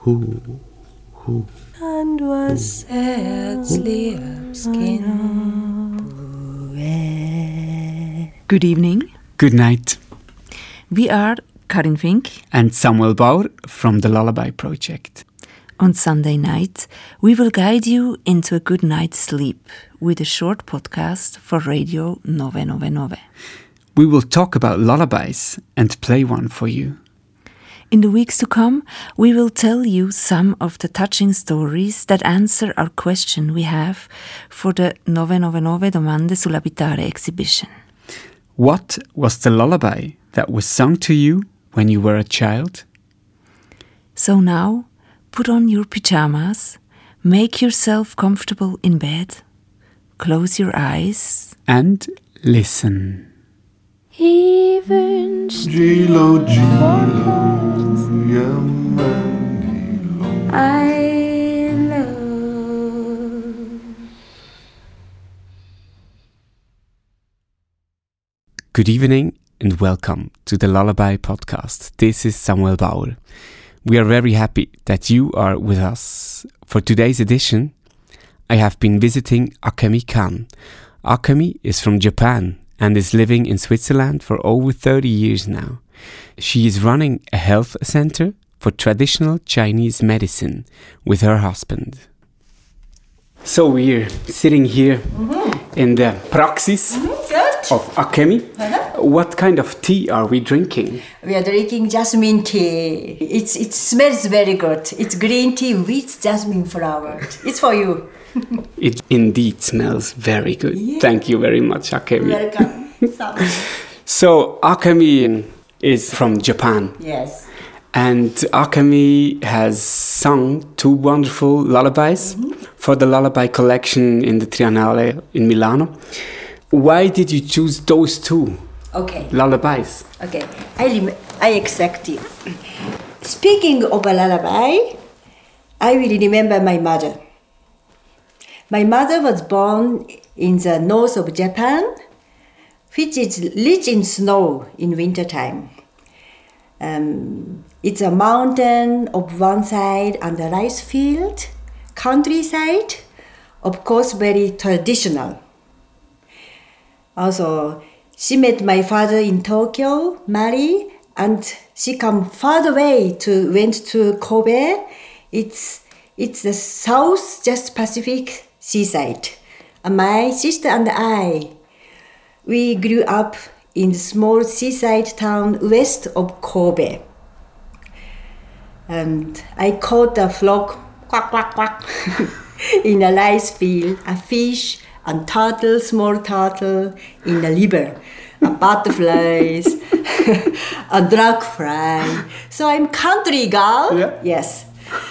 and was herzlich Kind. Good evening. Good night. We are Karin Fink And Samuel Bauer from the Lullaby Project. On Sunday night, we will guide you into a good night's sleep with a short podcast for Radio 999. We will talk about lullabies and play one for you. In the weeks to come, we will tell you some of the touching stories that answer our question we have for the 999 Domande sull'abitare exhibition. What was the lullaby that was sung to you when you were a child? So now, put on your pyjamas, make yourself comfortable in bed, close your eyes, And listen. Ich wünsch Gilo, I love. Good evening and welcome to the Lullaby Podcast. This is Samuel Bauer. We are very happy that you are with us. For today's edition, I have been visiting Akemi Kan. Akemi is from Japan and is living in Switzerland for over 30 years now. She is running a health center for traditional Chinese medicine with her husband. So we're sitting here in the praxis of Akemi. What kind of tea are we drinking? We are drinking jasmine tea. It smells very good. It's green tea with jasmine flower. It's for you. It indeed smells very good. Yeah. Thank you very much, Akemi. Welcome. So Akemi is from Japan. Yes. And Akemi has sung two wonderful lullabies for the lullaby collection in the Triennale in Milano. Why did you choose those two Okay. lullabies? Okay. I accept it. Speaking of a lullaby, I will remember my mother. My mother was born in the north of Japan, which is rich in snow in wintertime. It's a mountain of one side and a rice field, countryside, of course very traditional. Also, she met my father in Tokyo, married, and she come far away went to Kobe. It's the South just Pacific seaside. And my sister and I, we grew up in the small seaside town west of Kobe. And I caught a frog, quack, quack, quack, in a rice field, a fish and turtle, small turtle in the river, a butterflies, a dragonfly. So I'm country girl. Yeah. Yes.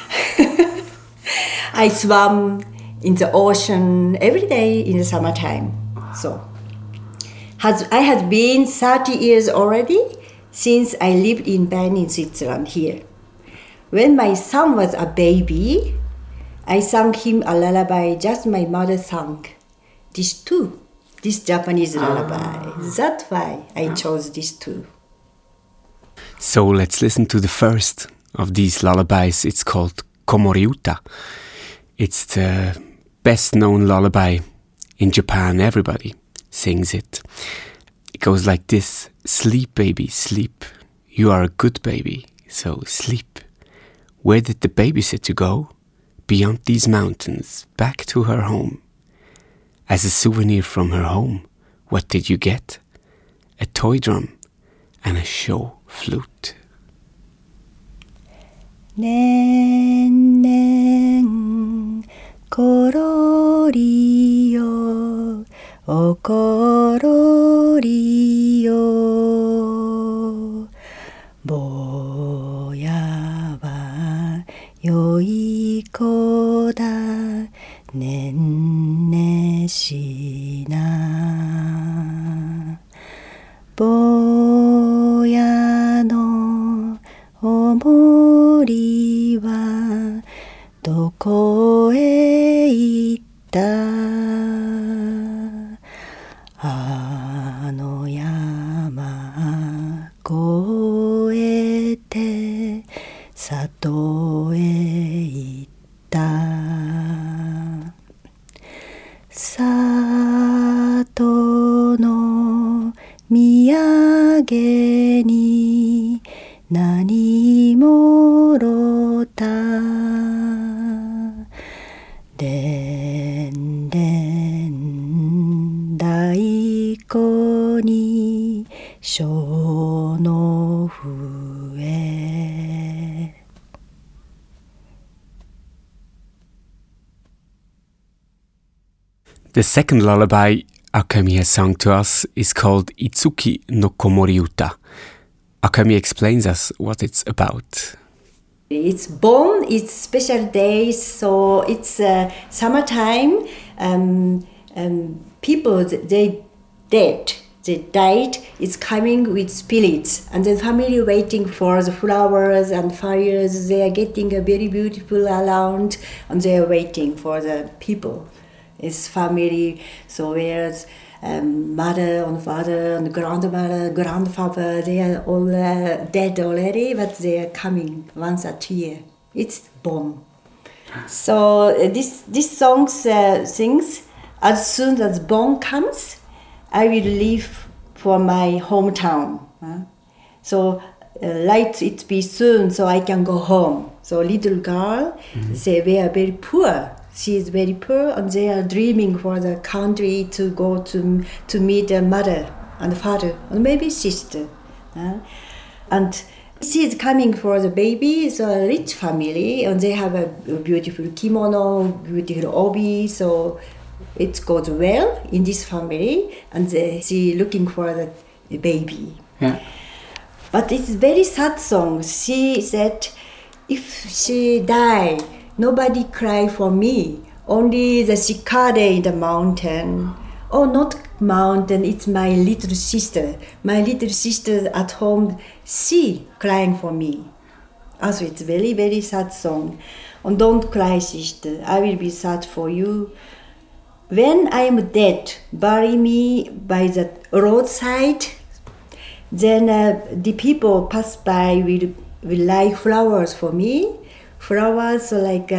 I swam in the ocean every day in the summertime. So I had been 30 years already since I lived in Bern in Switzerland here. When my son was a baby, I sang him a lullaby just my mother sang. This Japanese lullaby. That's why I chose these two. So let's listen to the first of these lullabies. It's called Komoriuta. It's the best known lullaby in Japan. Everybody sings it. It goes like this: sleep, baby, sleep. You are a good baby, so sleep. Where did the babysitter go? Beyond these mountains, back to her home. As a souvenir from her home, what did you get? A toy drum and a show flute. ねんねんころりよおころりよ坊やはよい子だねんねしな坊やのおもりはどこへ行ったあの山越えて里へ行った里の土産に何もろたでんでん太鼓に小の笛 The second lullaby Akemi has sung to us is called Itsuki no Komori Uta. Akemi explains us what it's about. It's born, it's special days, so it's summertime. People, they dead, they died, it's coming with spirits. And the family waiting for the flowers and fires. They are getting a very beautiful around and they are waiting for the people. It's family, so where's mother and father and grandmother, grandfather, they are all dead already, but they are coming once a year. It's bomb. So this song sings, as soon as bomb comes, I will leave for my hometown. So let it be soon so I can go home. So little girl, they were very poor. She is very poor, and they are dreaming for the country to go to meet their mother and father, and maybe sister. And she is coming for the baby. It's a rich family, and they have a beautiful kimono, beautiful obi. So it goes well in this family, and she looking for the baby. Yeah. But it's very sad song. She said, if she die, nobody cry for me. Only the cicada in the mountain. Oh, not mountain, it's my little sister. My little sister at home, she crying for me. Also, it's very, very sad song. And don't cry, sister. I will be sad for you. When I am dead, bury me by the roadside. Then the people pass by will like flowers for me. Flowers are like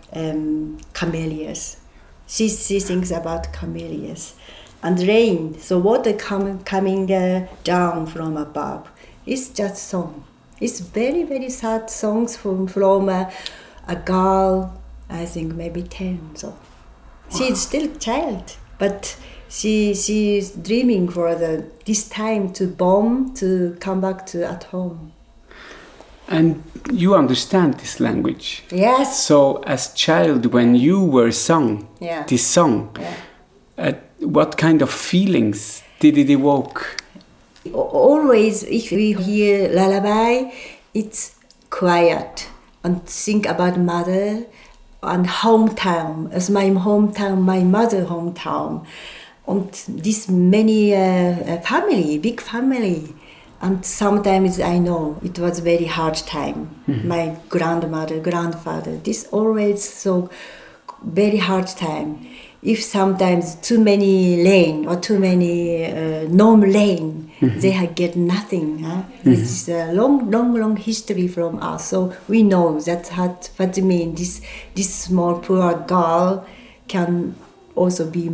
camellias. She thinks about camellias. And rain, so water coming down from above. It's just song. It's very, very sad songs from a girl, I think maybe 10. So she's still a child, but she's dreaming for this time to bomb, to come back to at home. And you understand this language. Yes. So as child, when you were sung this song, what kind of feelings did it evoke? Always, if we hear lullaby, it's quiet and think about mother and hometown. As my hometown, my mother hometown, and this many family, big family. And sometimes I know it was very hard time. My grandmother, grandfather, this always so very hard time. If sometimes too many rain or too many no rain, they get nothing. It's a long history from us. So we know that what it means. This small poor girl can also be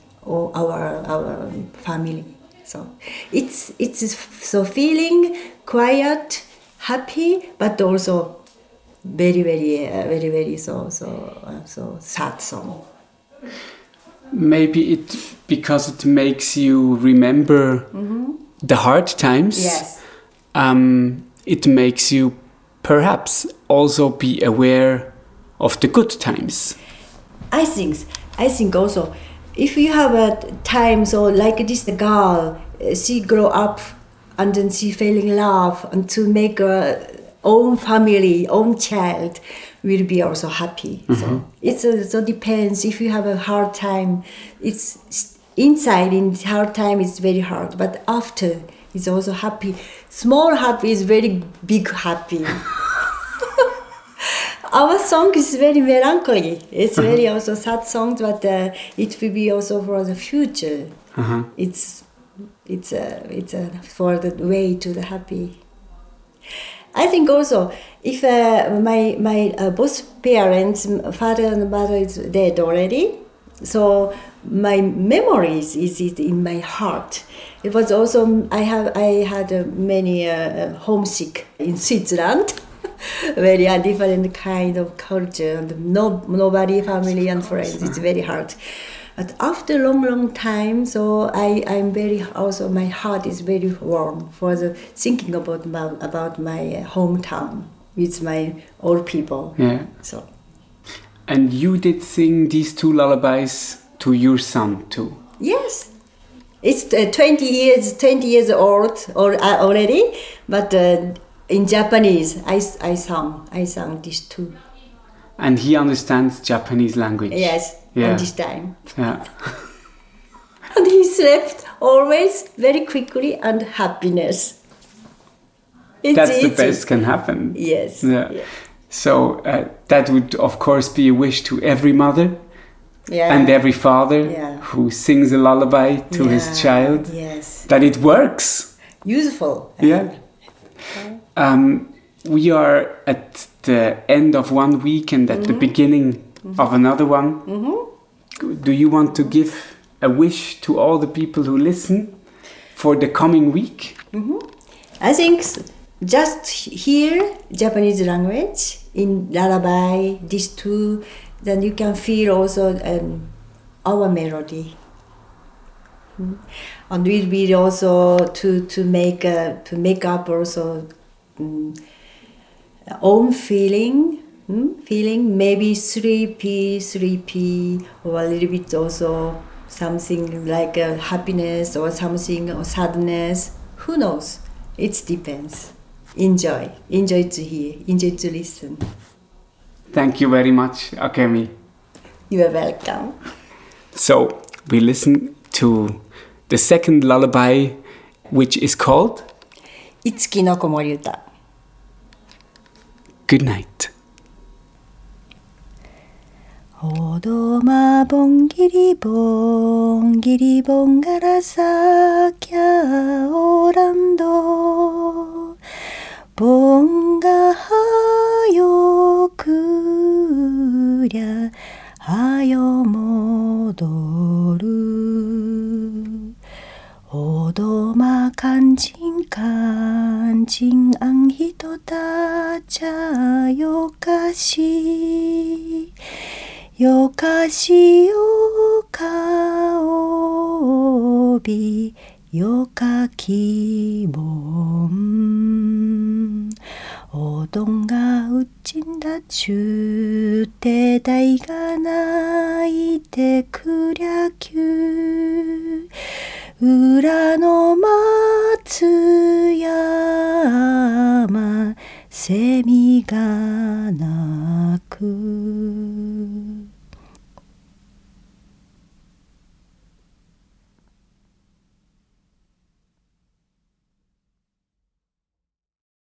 our family. So it's so feeling quiet, happy, but also very so sad song. Maybe because it makes you remember the hard times. Yes. It makes you perhaps also be aware of the good times. I think also, if you have a time, so like this girl, she grow up and then she fell in love and to make her own family, own child, will be also happy. So it so depends. If you have a hard time, it's inside in hard time it's very hard, but after it's also happy. Small happy is very big happy. Our song is very melancholy. It's very also sad song, but it will be also for the future. It's for the way to the happy. I think also if my both parents, father and mother, is dead already, so my memories is in my heart. It was also I had many homesick in Switzerland, very different kind of culture and nobody family and friends. It's very hard. But after long time, so I'm very also my heart is very warm for the thinking about my hometown with my old people. Yeah. So. And you did sing these two lullabies to your son too. Yes, it's 20 years old already, but in Japanese I sang these two. And he understands Japanese language. Yes, Yeah. at this time. Yeah. And he slept always very quickly and happiness. That's the easy. best can happen. Yes. Yeah. Yeah. So that would of course be a wish to every mother Yeah. and every father Yeah. who sings a lullaby to his Yeah, child. Yes. That it works. Useful. Yeah. We are at the end of one week and at the beginning of another one. Do you want to give a wish to all the people who listen for the coming week? I think just hear Japanese language in lullaby, these two, then you can feel also our melody. And we'll be also to make up also own feeling, maybe sleepy, or a little bit also something like happiness or something or sadness. Who knows? It depends. Enjoy to hear, enjoy to listen. Thank you very much, Akemi. You are welcome. So we listen to the second lullaby, which is called Itsuki no Komori Uta. Good night. おどまぼんぎりぼんがらさきゃおらんどぼんがはよくりゃはよもどるおどまかんちんあんひとたちゃよかしよかしよかおびよかきぼんおどんがうちんだちゅうてだいがないてくりゃきゅう裏の松山セミが鳴く